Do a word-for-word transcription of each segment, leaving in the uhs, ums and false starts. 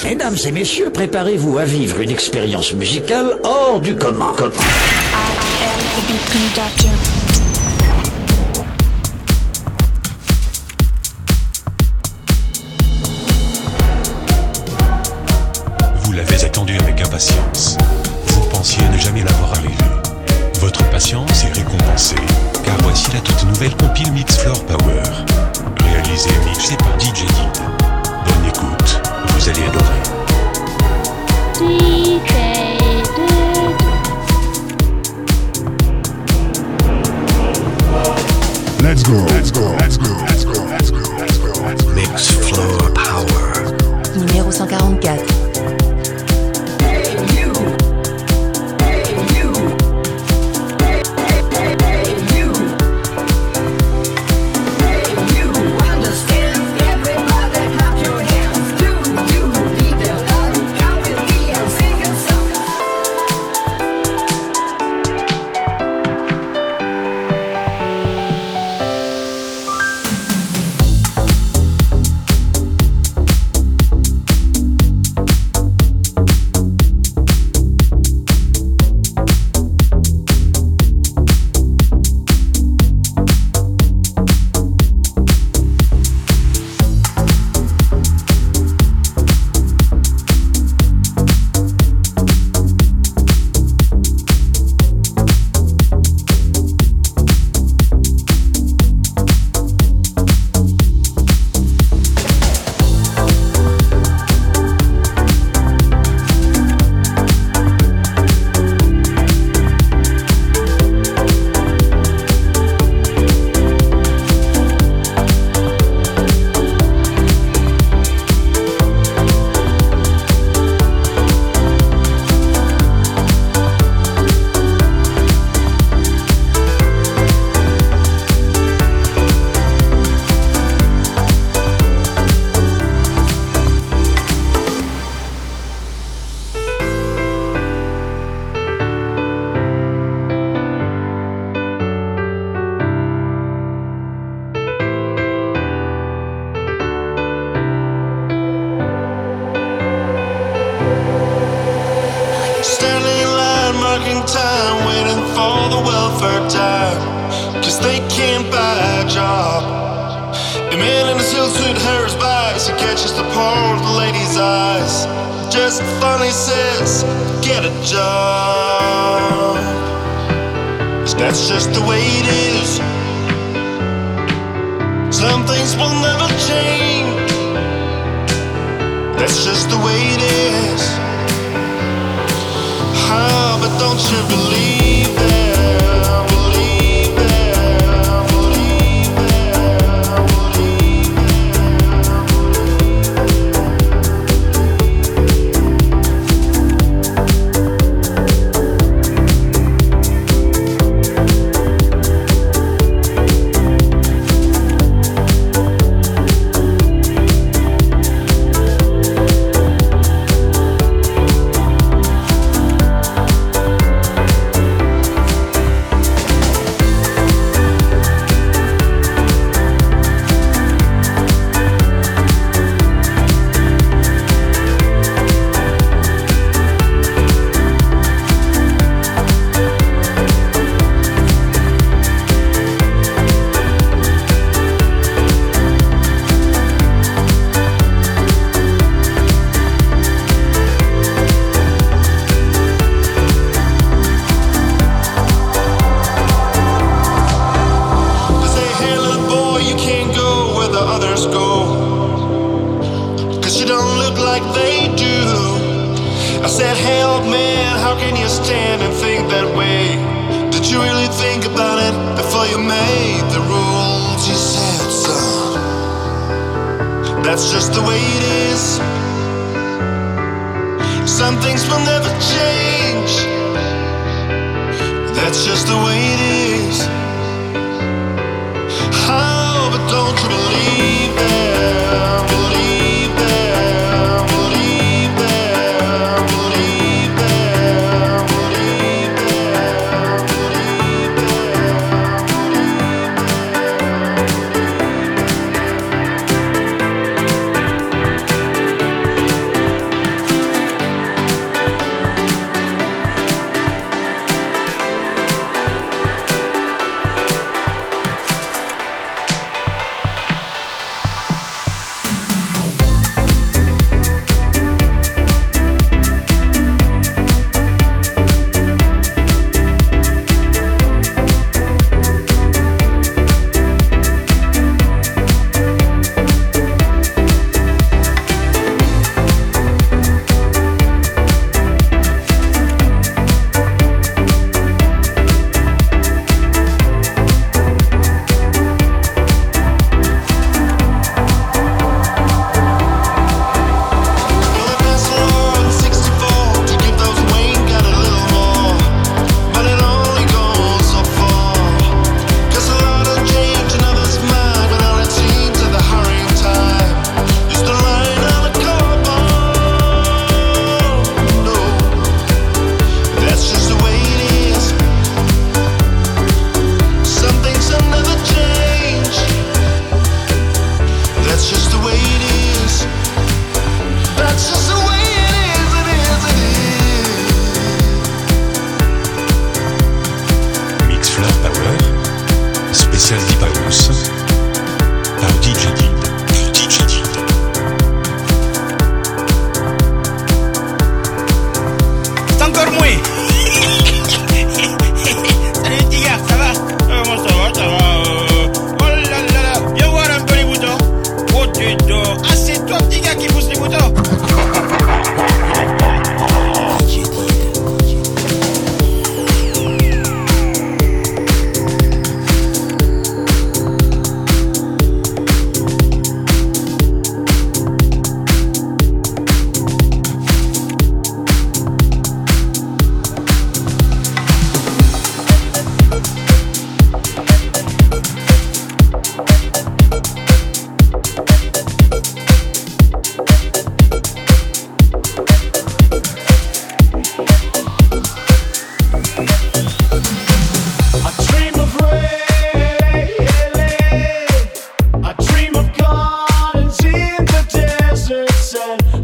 Mesdames et messieurs, préparez-vous à vivre une expérience musicale hors du commun. I am the beat conductor. Vous l'avez attendu avec impatience. Vous pensiez ne jamais l'avoir arrivé. Votre patience est récompensée, car voici la toute nouvelle compile Mix Floor Power. Réalisée et mixée par D J Did. Bonne écoute, vous allez adorer. D J Did. Let's go, let's go, let's go, let's go, let's go, let's go, let's go. Mix Floor Power. Numéro cent quarante-quatre.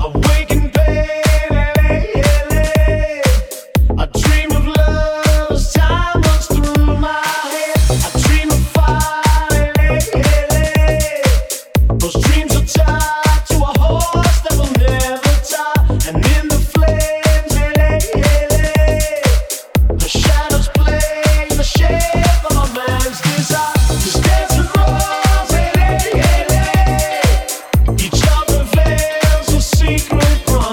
Secret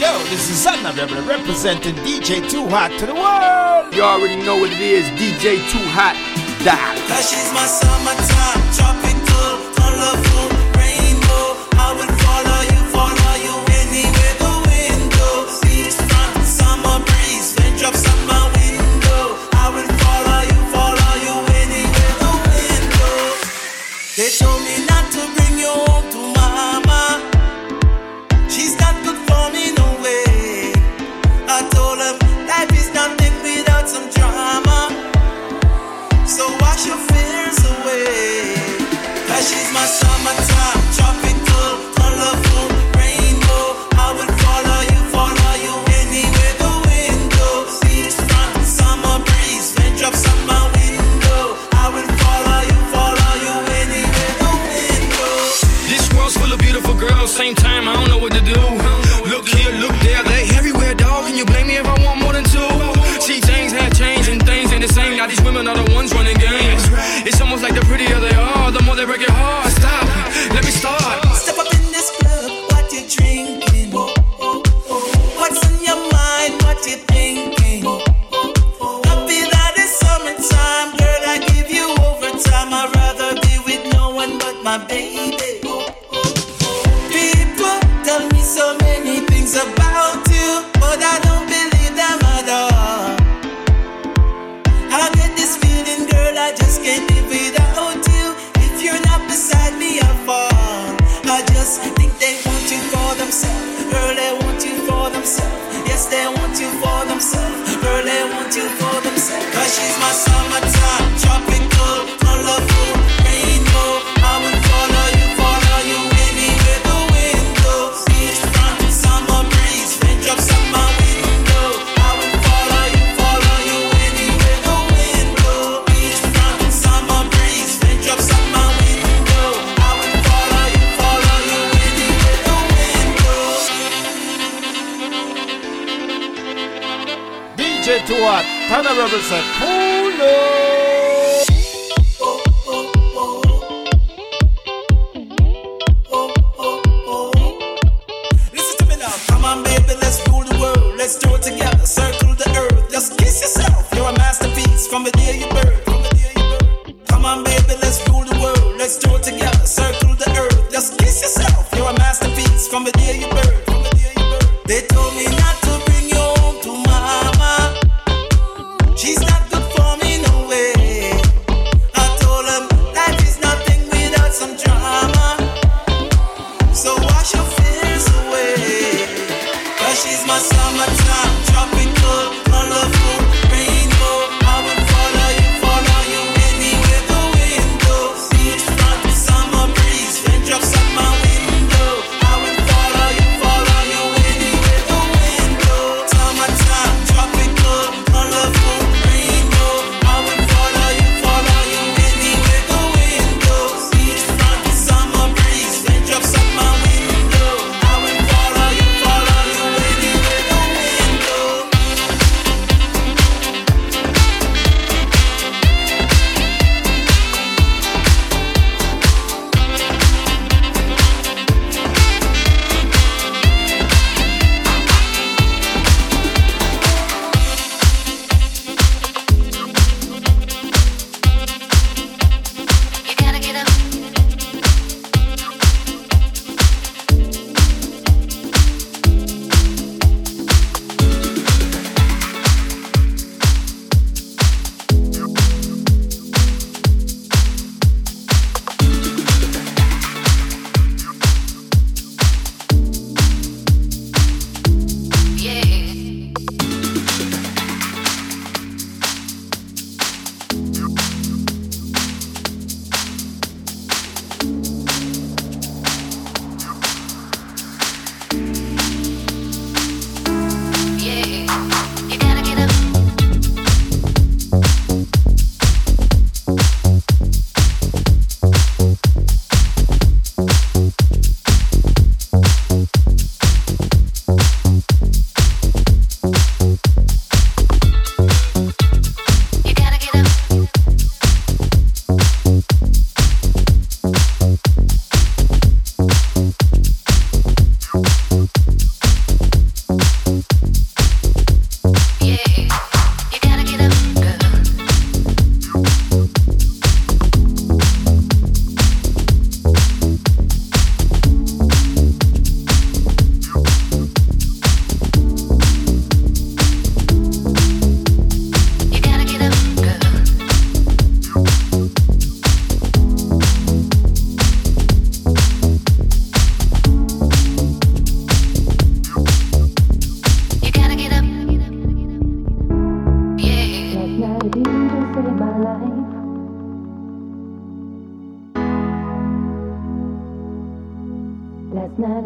Yo, this is Anna Rebel representing D J Too Hot to the world. You already know what it is, D J Too Hot. Die. Cause she's my summertime, tropical, colorful, rainbow. I will follow you, follow you anywhere the wind goes. Beachfront, summer breeze, raindrops on my window. I will follow you, follow you anywhere the wind goes. They told me not to bring you home to mama. She's not good for me, no way. I told them life is nothing without some drama. So wash your fears away. Cause she's my summertime, tropical, colorful, rainbow. I will follow you, follow you anywhere the wind goes. Beachfront, summer breeze, raindrops on my window. I will follow you, follow you anywhere the wind goes. This world's full of beautiful girls, same time I don't know what to do. Look here, look there, they everywhere, dog. Can you blame me if I want more than two? See, things have changed and things ain't the same. Now these women are the ones running games. It's almost like the prettier they are, the more they break it hard. Stop, let me start. Step up in this club, what you drinking? What's on your mind, what you thinking? Happy that it's summertime, girl, I give you overtime. I'd rather be with no one but my baby. People tell me so many things about you, but I don't believe them at all. I get this feeling, girl, I just can't live without you. If you're not beside me, I fall. I just think they want you for themselves. Girl, they want you for themselves. Yes, they want you for themselves. Girl, they want you for themselves. Cause she's my summertime, tropical, colorful, rainbow. I will follow you, follow you anywhere the wind goes. Beachfront, summer breeze, raindrops on my window. I will follow you, follow you anywhere the wind goes. Beachfront, summer breeze, raindrops on my window. I will follow you, follow you anywhere the wind goes. D J Too Hot, Anna Rebel said, pull up. Listen to me now, come on baby, let's rule the world. Let's do it together, circle the earth. Just kiss yourself, you're a masterpiece from the day you birth. Come on baby, let's rule the world. Let's do it together, circle the earth. Just kiss yourself, you're a masterpiece from the day you birth. They told me not to bring you home to mama. She's not good for me, no way. I told them life is nothing without some drama. So wash your fears away. Cause she's my summertime, tropical, colorful, rainbow. I will follow you, follow you anywhere the wind goes. Beachfront, summer breeze, raindrops on my window. I will follow you, follow you anywhere the wind goes. Summertime, tropical, colorful, rainbow. I will follow you, follow you anywhere the wind goes. Beachfront, summer breeze, raindrops on my window. I will follow you, follow you anywhere the wind goes.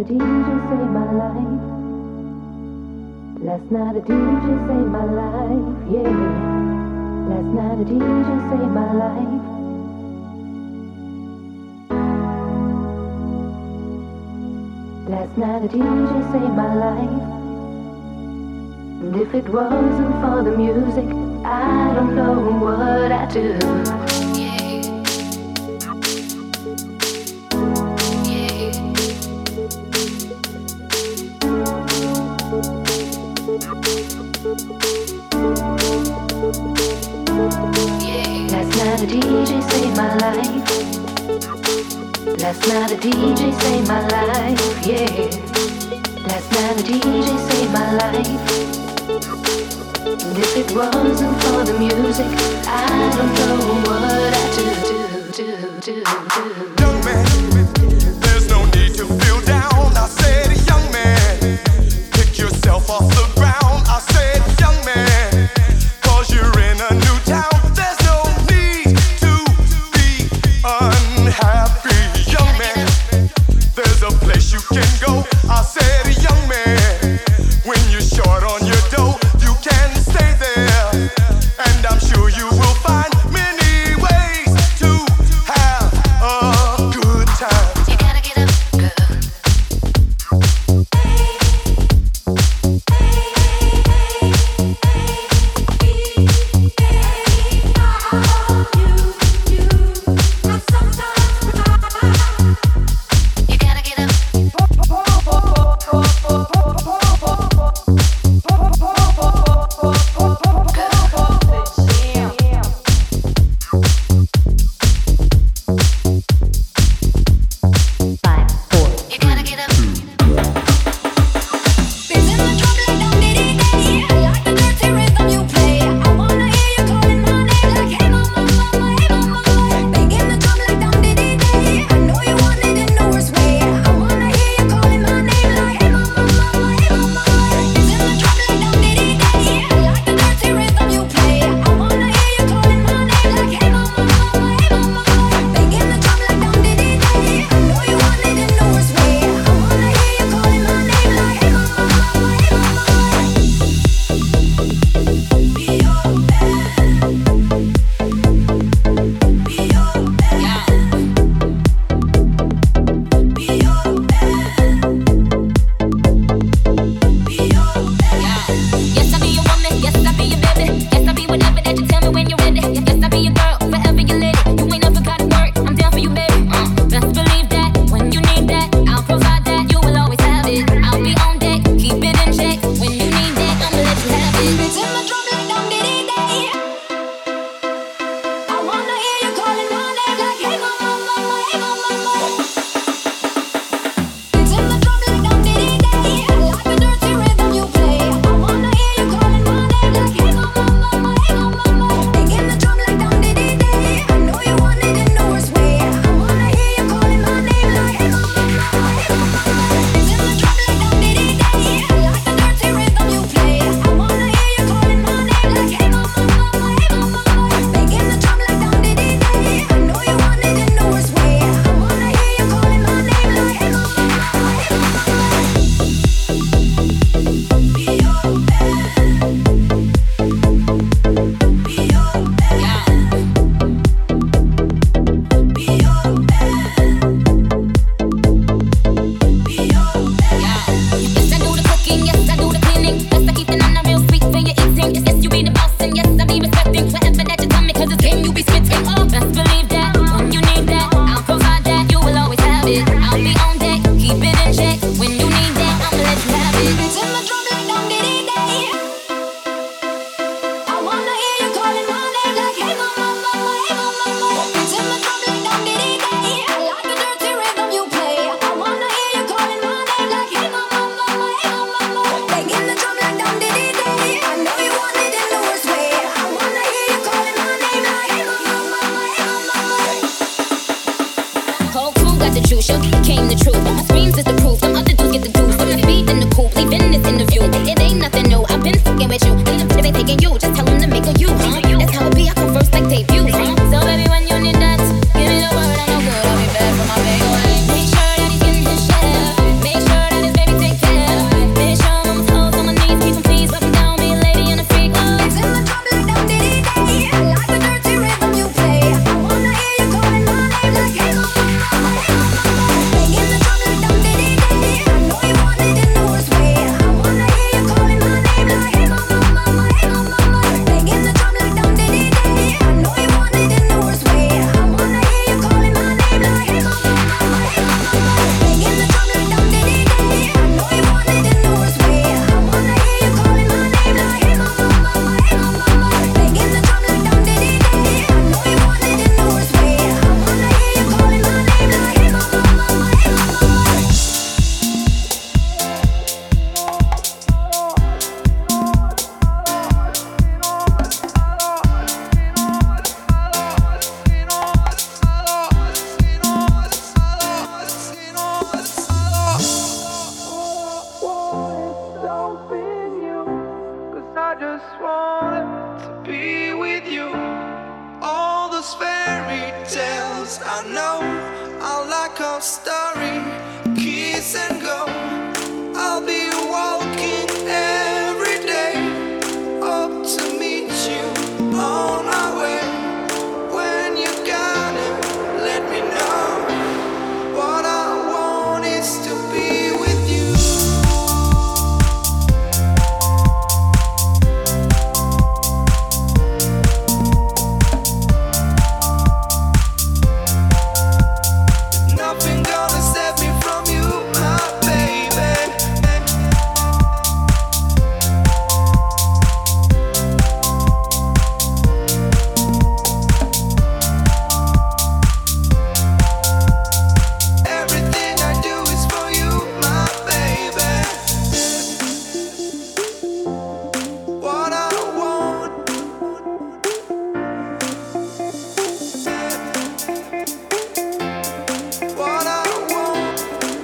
D J saved my life. Last night a D J saved my life, yeah. Last night a D J saved my life. Last night a D J saved my life. And if it wasn't for the music, I don't know what I'd do. Last night a D J saved my life. Last night a D J saved my life, yeah. Last night a D J saved my life. And if it wasn't for the music, I don't know what I'd do, do, do, do, do. Young man, there's no need to feel down. I said, young man, pick yourself off the ground. I said, young man, cause you're in a new town. There's no need to be unhappy. Young man, there's a place you can go. I said, young man, when you're short on your dough, you can stay there. And I'm sure you will find many ways to have a good time. You gotta get up, girl. You gotta get up. Make sure wanted to be with you. All those fairy tales I know are like a story. Kiss and go. I'll be walking every day up to meet you on my way. When you gotta let me know, what I want is to be with you. Nothing gonna set me from you, my baby. Everything I do is for you, my baby. What I want, what I want.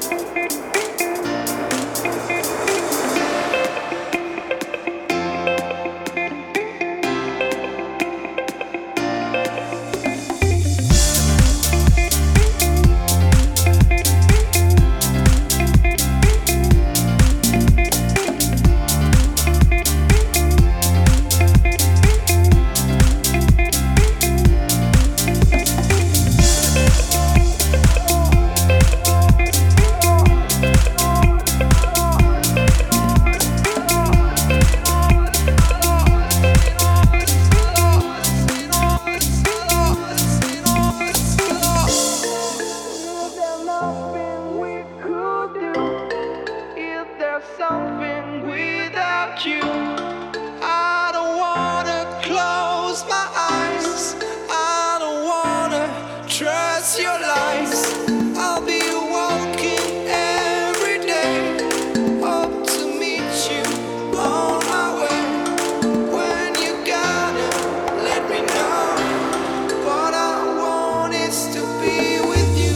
Is there something without you? I don't wanna close my eyes. I don't wanna trust your lies. I'll be walking every day up to meet you on my way. When you gotta let me know, what I want is to be with you.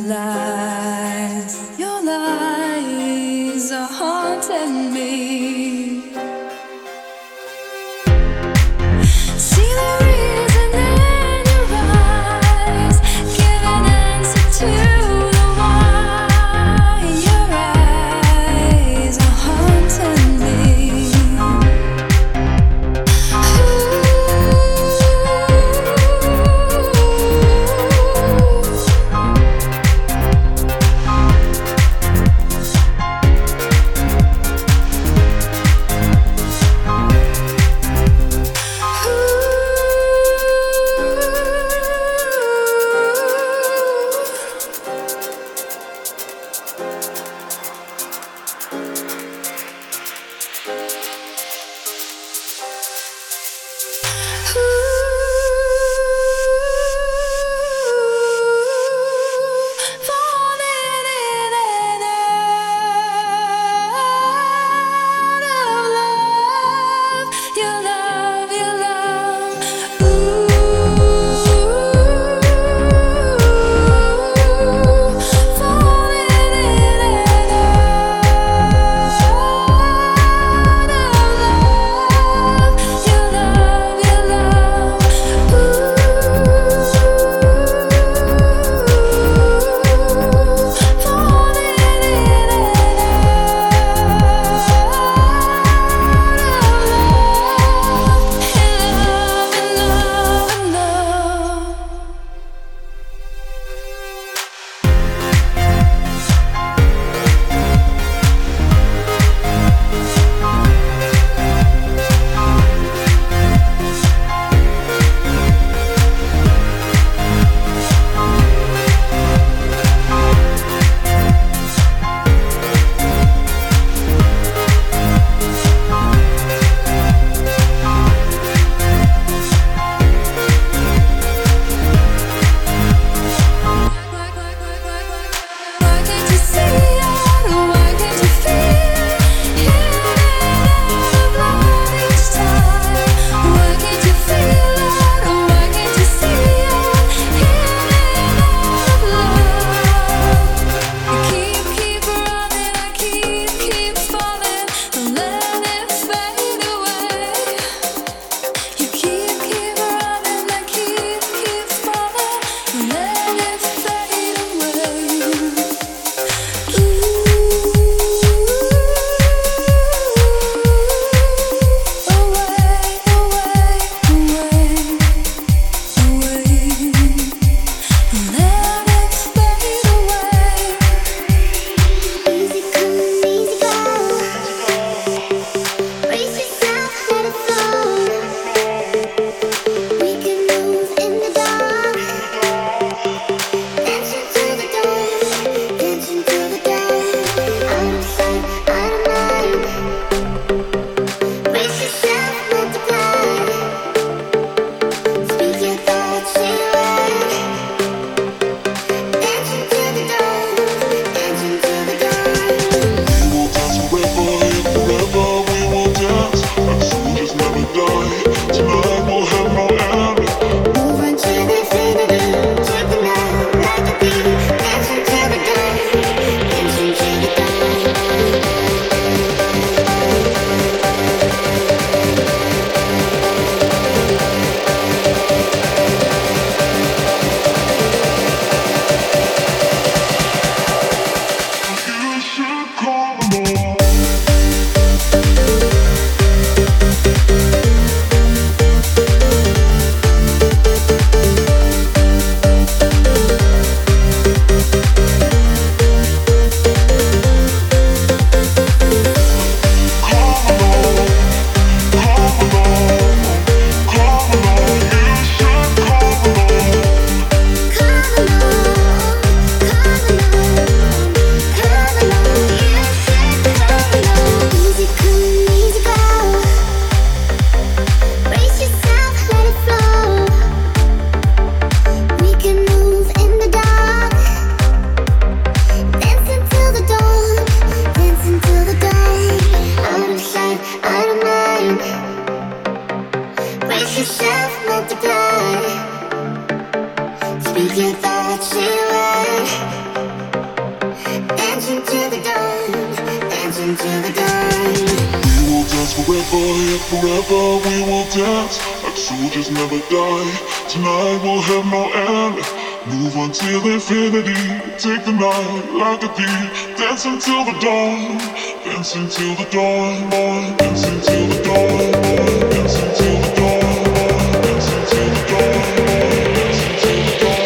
lies, your lies are haunting me. See the reason in your eyes, give an answer to the why. Your eyes are haunting me. Ooh. live forever, we will dance like soldiers never die. Tonight we'll have no end. Move until infinity. Take the night like a thief. Dance until the dawn. Dance until the dawn. Dance until the dawn. Dance until the dawn. Dance until the dawn. Dance until the dawn.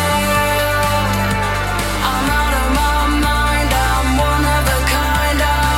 I'm out of my mind, I'm one of a kind.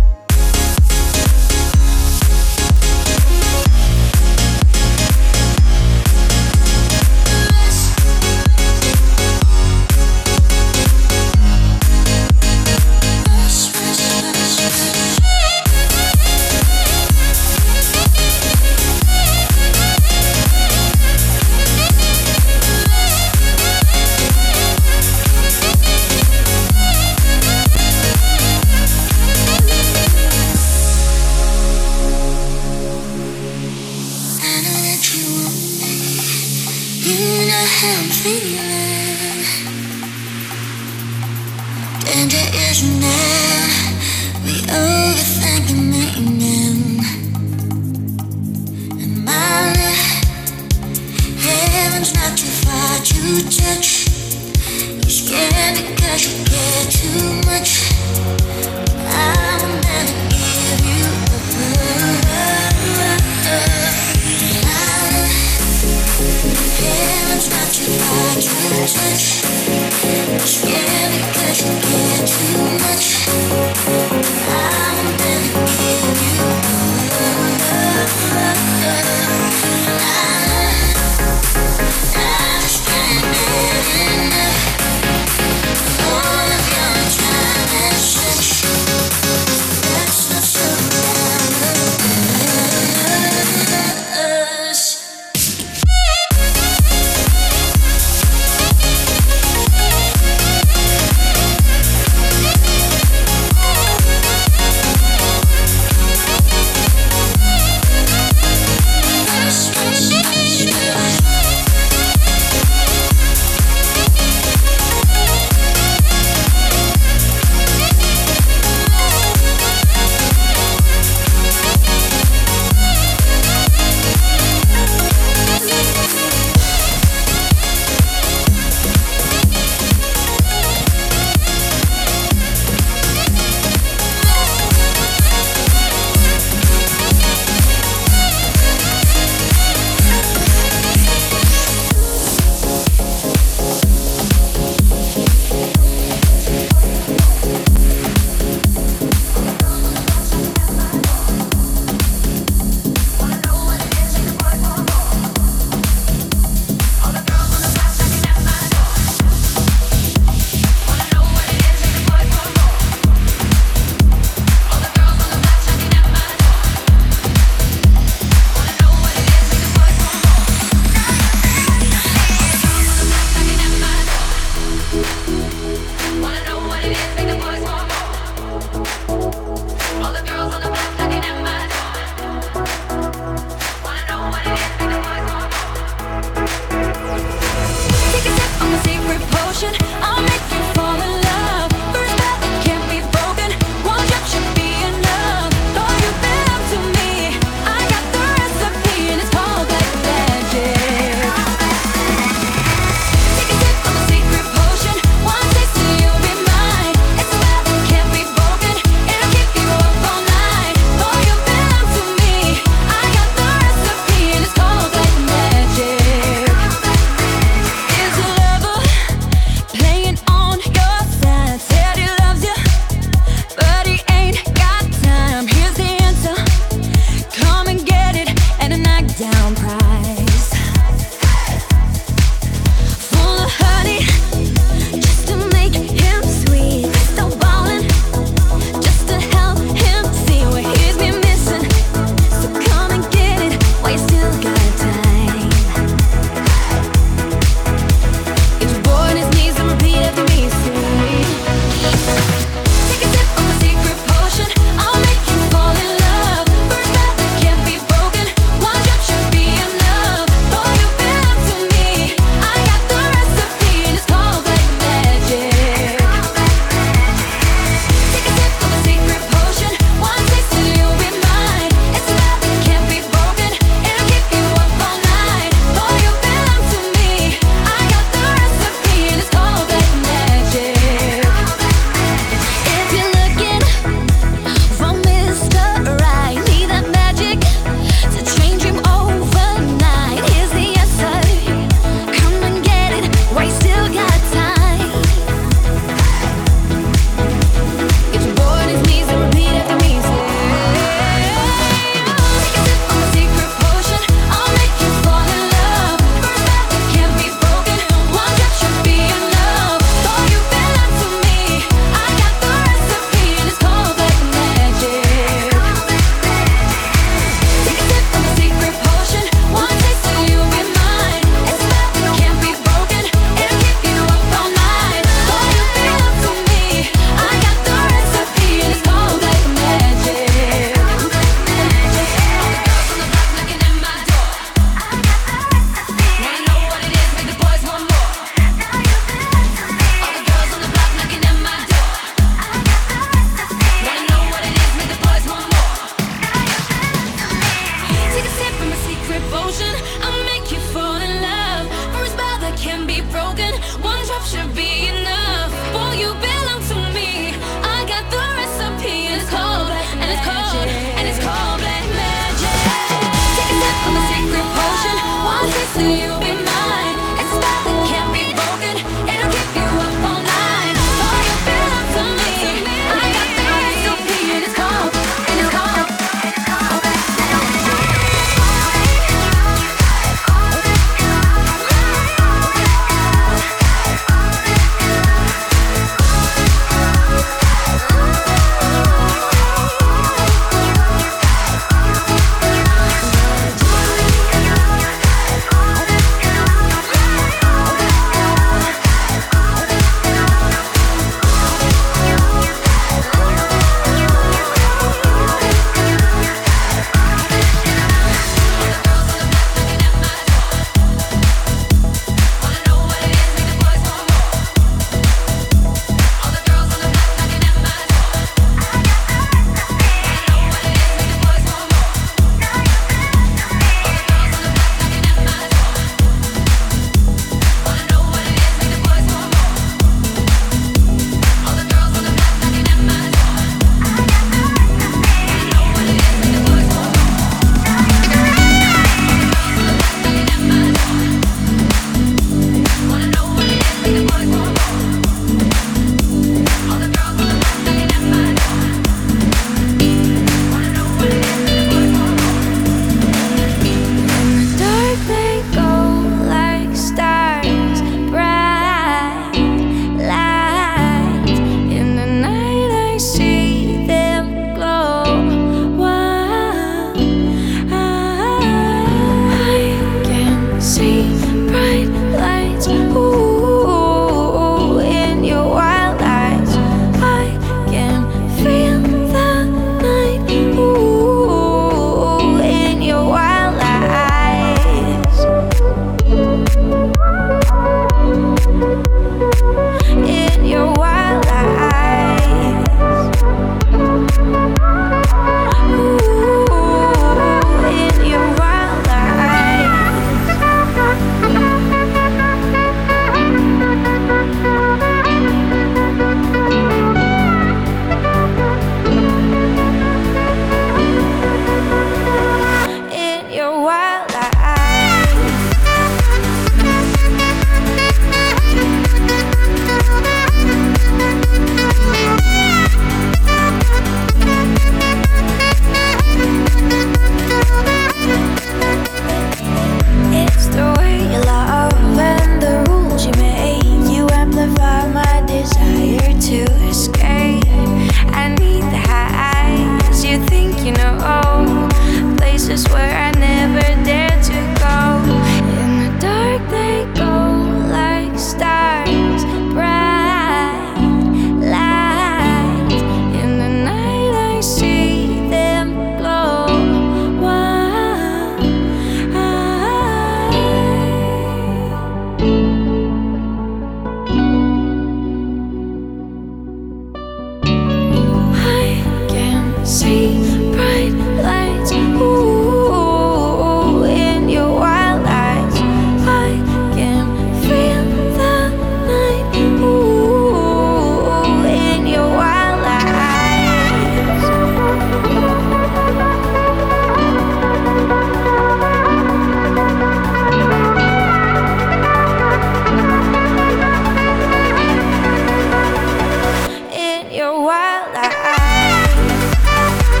your wild eyes.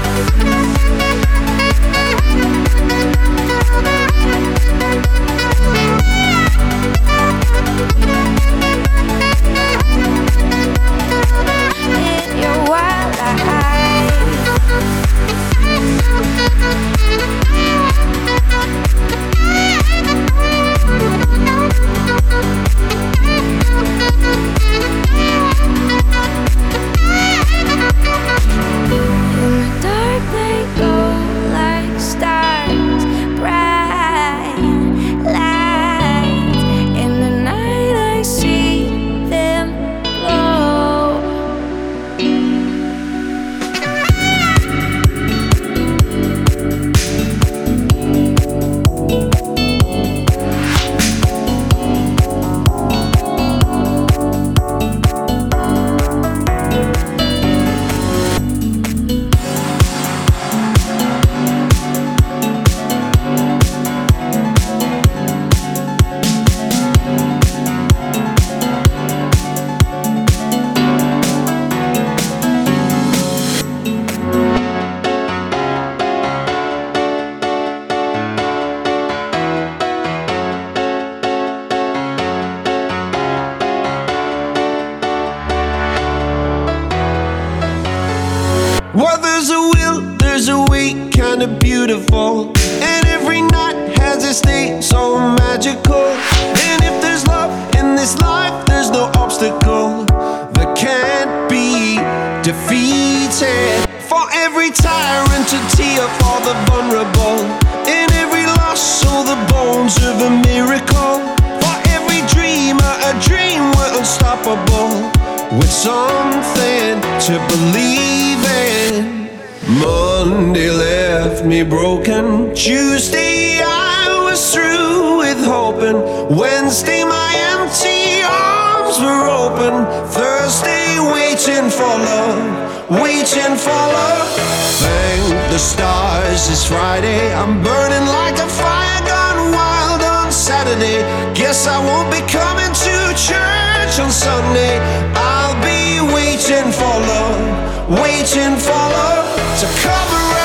years a week, kinda beautiful. And every night has its day so magical. And if there's love in this life, there's no obstacle that can't be defeated. For every tyrant to tear for the vulnerable. In every loss, all the bones of a miracle. For every dreamer, a dream we're unstoppable. With something to believe in. Monday left me broken. Tuesday I was through with hoping. Wednesday my empty arms were open. Thursday waiting for love, waiting for love. Thank the stars it's Friday. I'm burning like a fire gone wild on Saturday. Guess I won't be coming to church on Sunday. I'll be waiting for love, waiting for love to come around.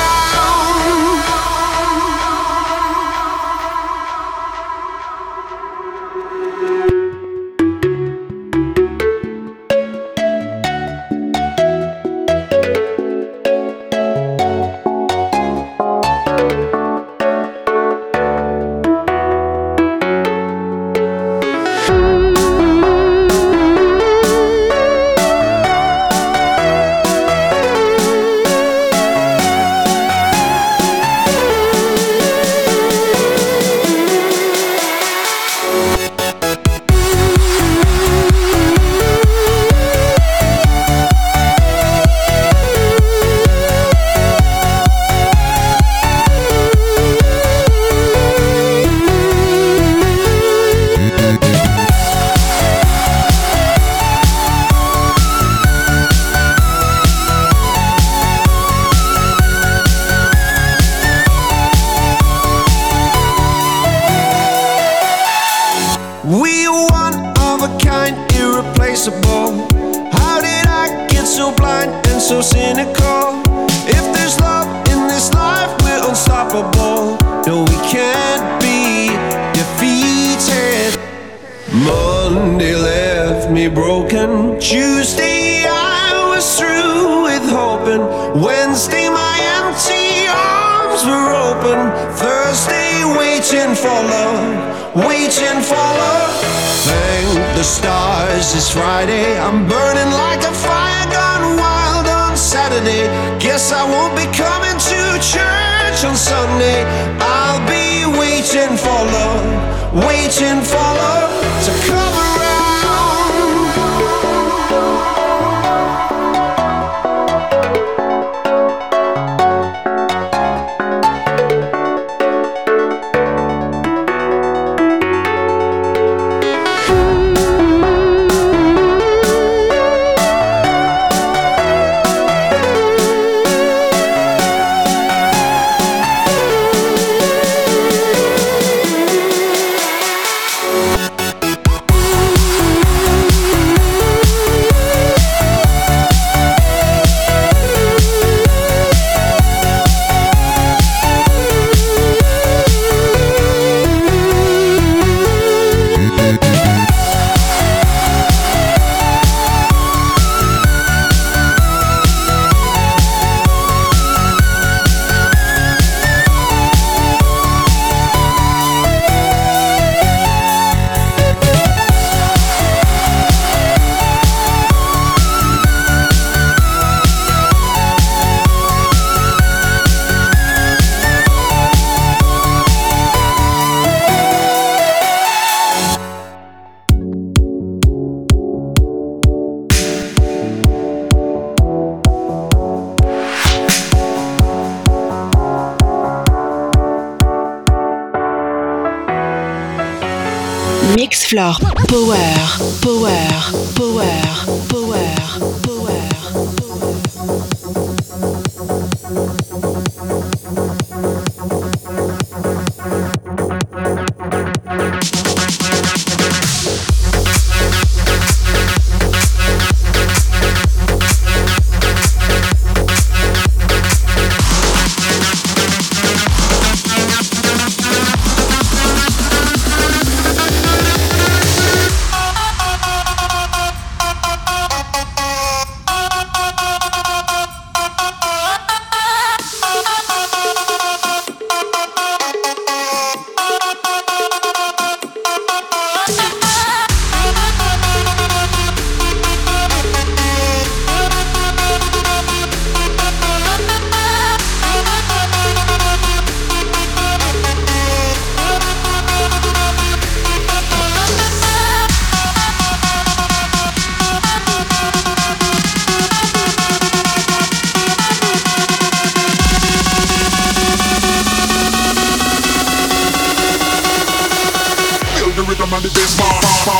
So cynical. If there's love in this life, we're unstoppable. No, we can't be defeated. Monday left me broken. Tuesday I was through with hoping. Wednesday my empty arms were open. Thursday waiting for love, waiting for love. Thank the stars it's Friday. I'm burning like a fire gone wild on Saturday. Guess I won't be coming to church on Sunday. I'll be waiting for love, waiting for love to come around. Mixfloor Power, Power, Power, Power, Power. rhythm and the bass.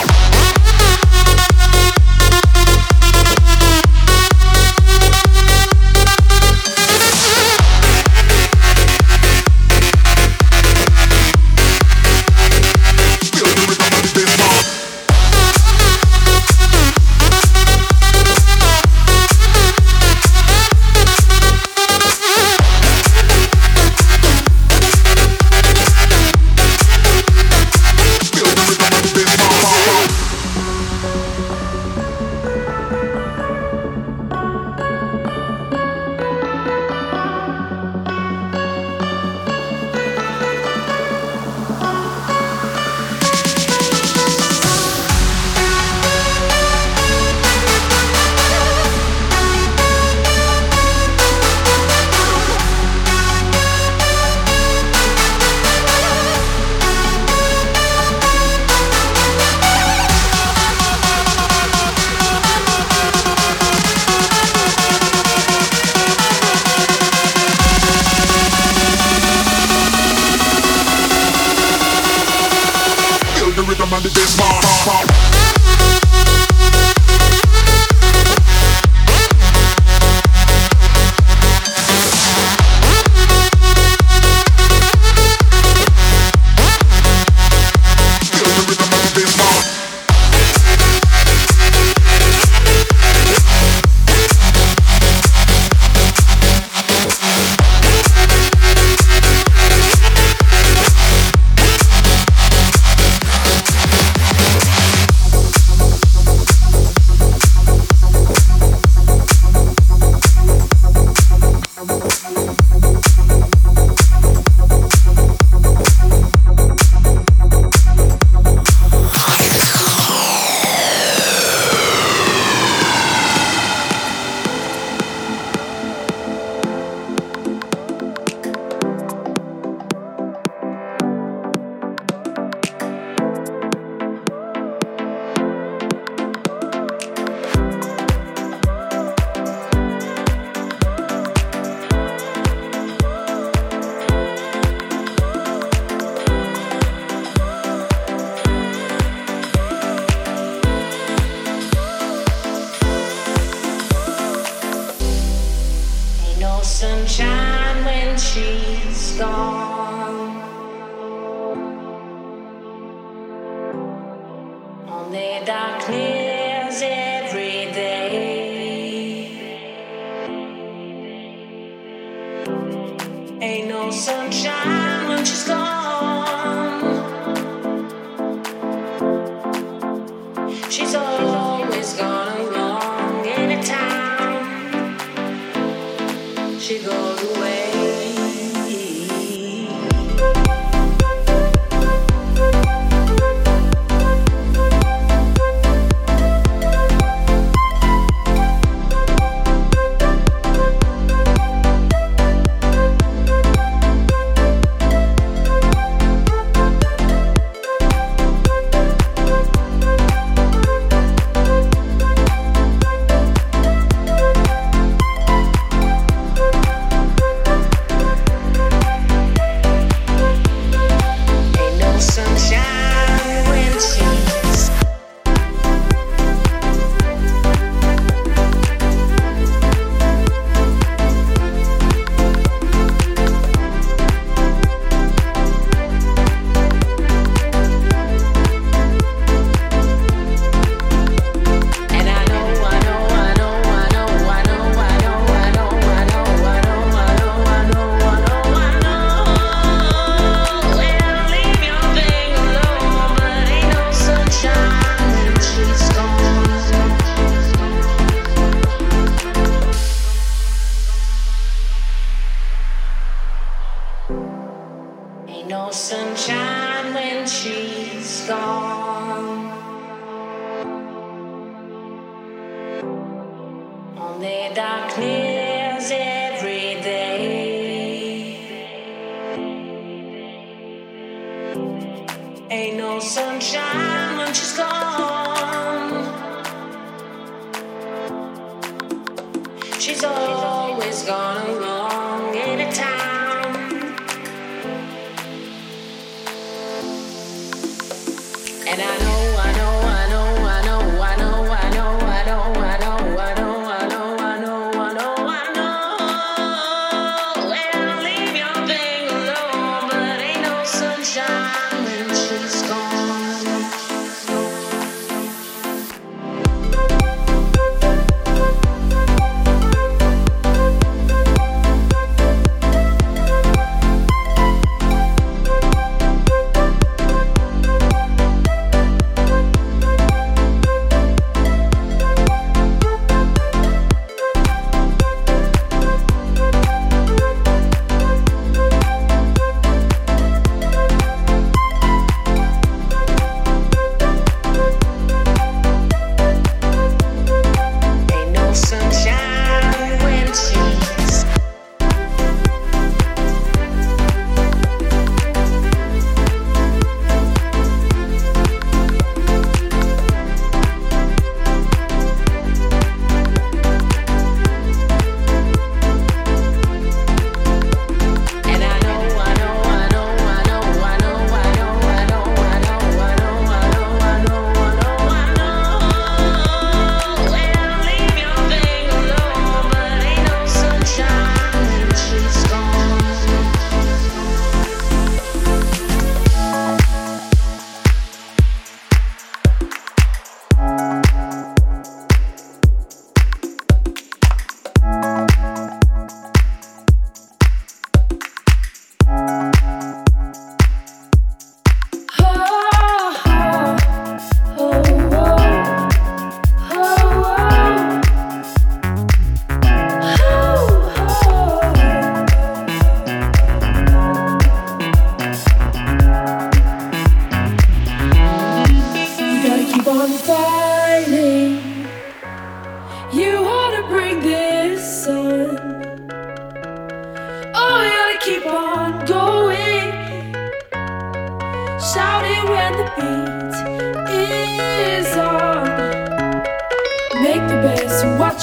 Sunshine when she's gone. Only darkness every day. Ain't no sunshine when she's gone. She's always gone along anytime she goes away. No sunshine when she's gone. Only darkness every day. Ain't no sunshine when she's gone. She's always gone along anytime. And I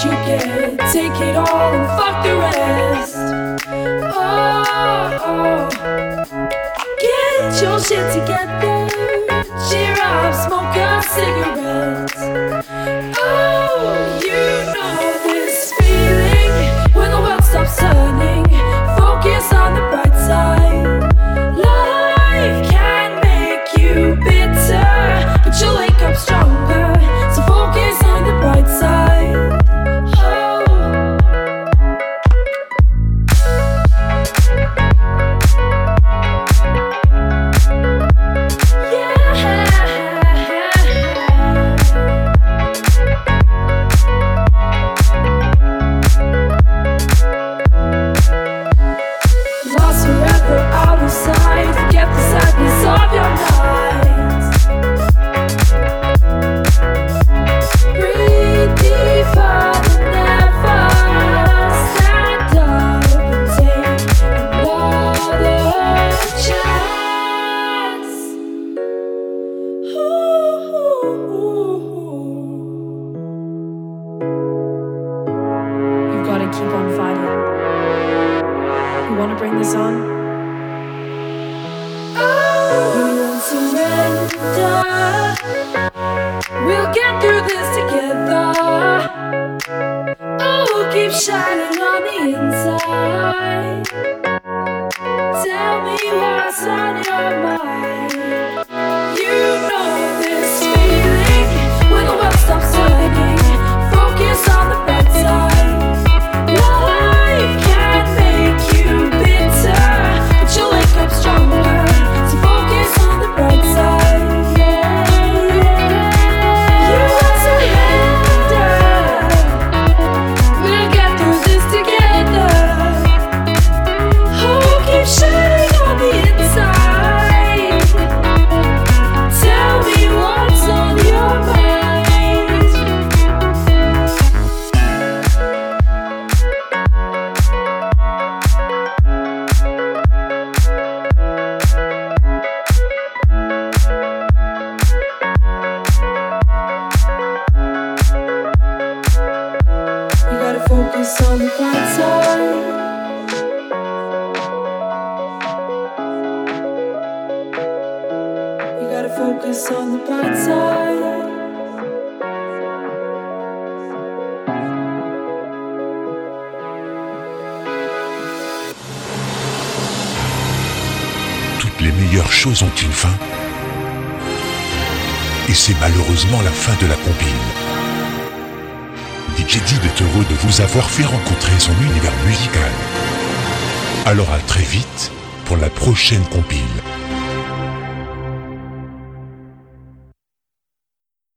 you get. Take it all and fuck the rest. Oh, oh. Get your shit together. Cheer up, smoke a cigarette. Oh, you know this feeling when the world stops turning. Focus on the bright side. Life can make you bitter, but you'll wake up stronger. So focus on the bright side. Oh. Lost forever out of sight. Forget the sadness of your nights. Breathe deeper than ever. Stand up and take another chance. You've got to keep on fighting. You want to bring this on? Oh, we won't surrender. We'll get through this together. Oh, we'll keep shining on the inside. Tell me what's on your mind. You know this feeling when the world stops turning. Focus on the bright side. Life can make you bitter, but you'll wake up stronger. So focus on the bright side. Yeah, yeah. You want to surrender. We'll get through this together. Oh, keep shining on the inside. Tell me what's on your mind. You gotta focus on the bright side. You gotta focus on the bright side. Toutes les meilleures choses ont une fin. Et c'est malheureusement la fin de la compile. D J Did est heureux de vous avoir fait rencontrer son univers musical. Alors à très vite pour la prochaine compile.